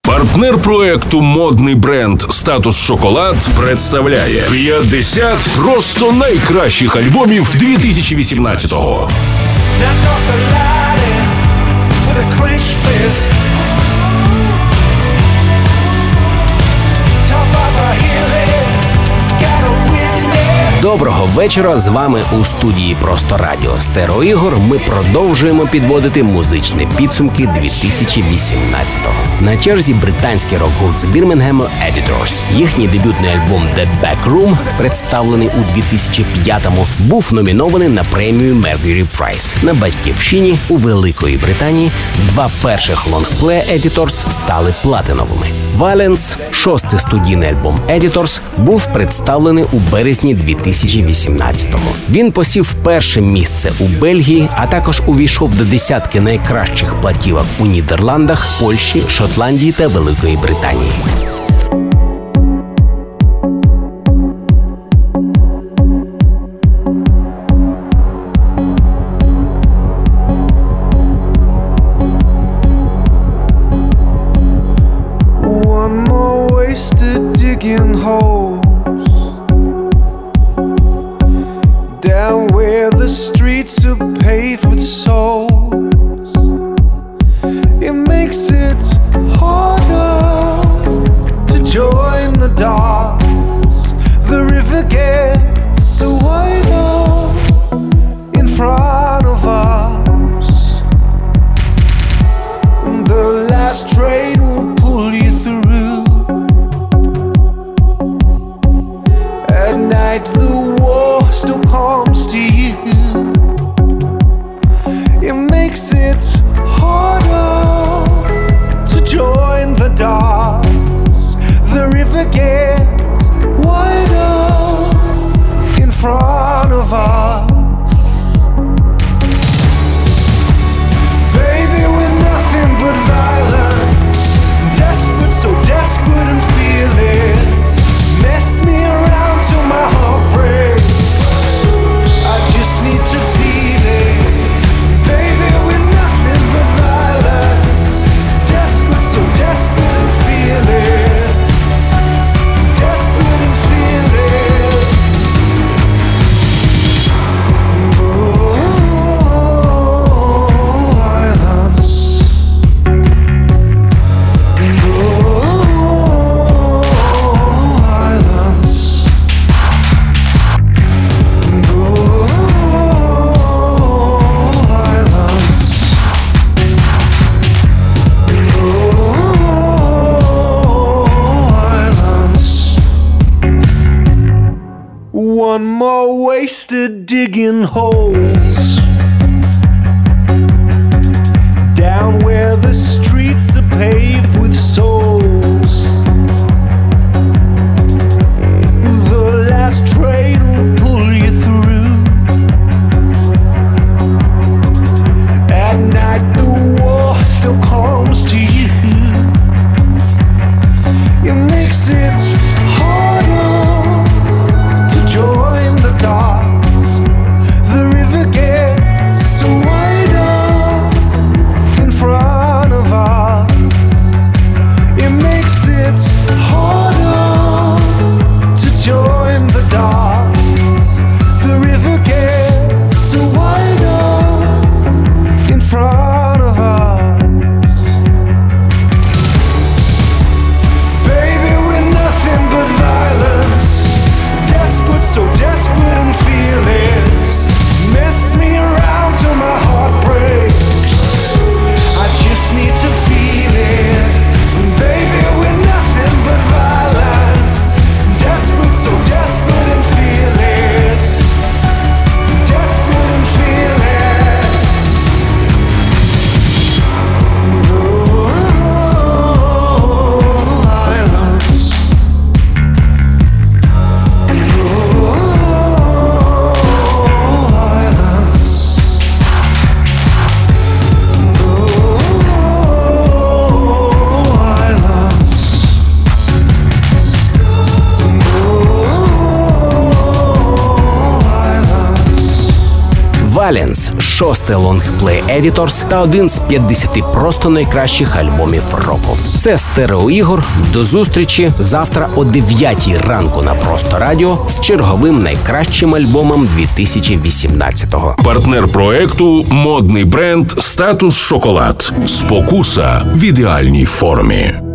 Партнер проекту модний бренд «Статус Шоколад» представляє 50 просто найкращих альбомів 2018-го. Доброго вечора, з вами у студії «Просто радіо» Стерео Ігор. Ми продовжуємо підводити музичні підсумки 2018-го. На черзі британський рок-гурт з Бірмінгему Editors. Їхній дебютний альбом The Back Room, представлений у 2005-му, був номінований на премію Mercury Prize. На батьківщині у Великої Британії два перших лонгплея Editors стали платиновими. Violence, шостий студійний альбом Editors, був представлений у березні 2018-го. Він посів перше місце у Бельгії, а також увійшов до десятки найкращих платівок у Нідерландах, Польщі, Шотландії та Великої Британії. Down where the streets are paved with souls, it makes it harder to join the dots. The river gets so wider in front of us, and the last train will pull you through. At night the war still comes to you. It makes it harder to join the dots. The river gets wider in front of us. Baby, we're nothing but violence, desperate, so desperate and fearless. Mess me around till my heart breaks. I just need to feel it. Baby, we're nothing but violence, desperate, so desperate and fearless. Desperate and fearless. Oh, violence. One more wasted digging holes down where the streets are paved with souls. The last train will pull you through. At night the war still comes to you. It makes it harder to join the dots. The river gets wider in front of us. Balance, 6-й лонгплей Editors та один з 50 просто найкращих альбомів року. Це Стерео Ігор. До зустрічі завтра о 9 ранку на Просто Радіо з черговим найкращим альбомом 2018-го. Партнер проекту – модний бренд «Статус Шоколад». Спокуса в ідеальній формі.